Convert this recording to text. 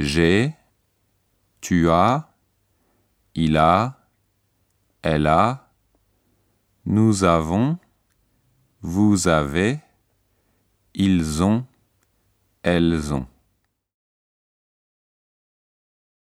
j'ai, tu as, il a, elle a, nous avons, vous avez, ils ont, elles ont.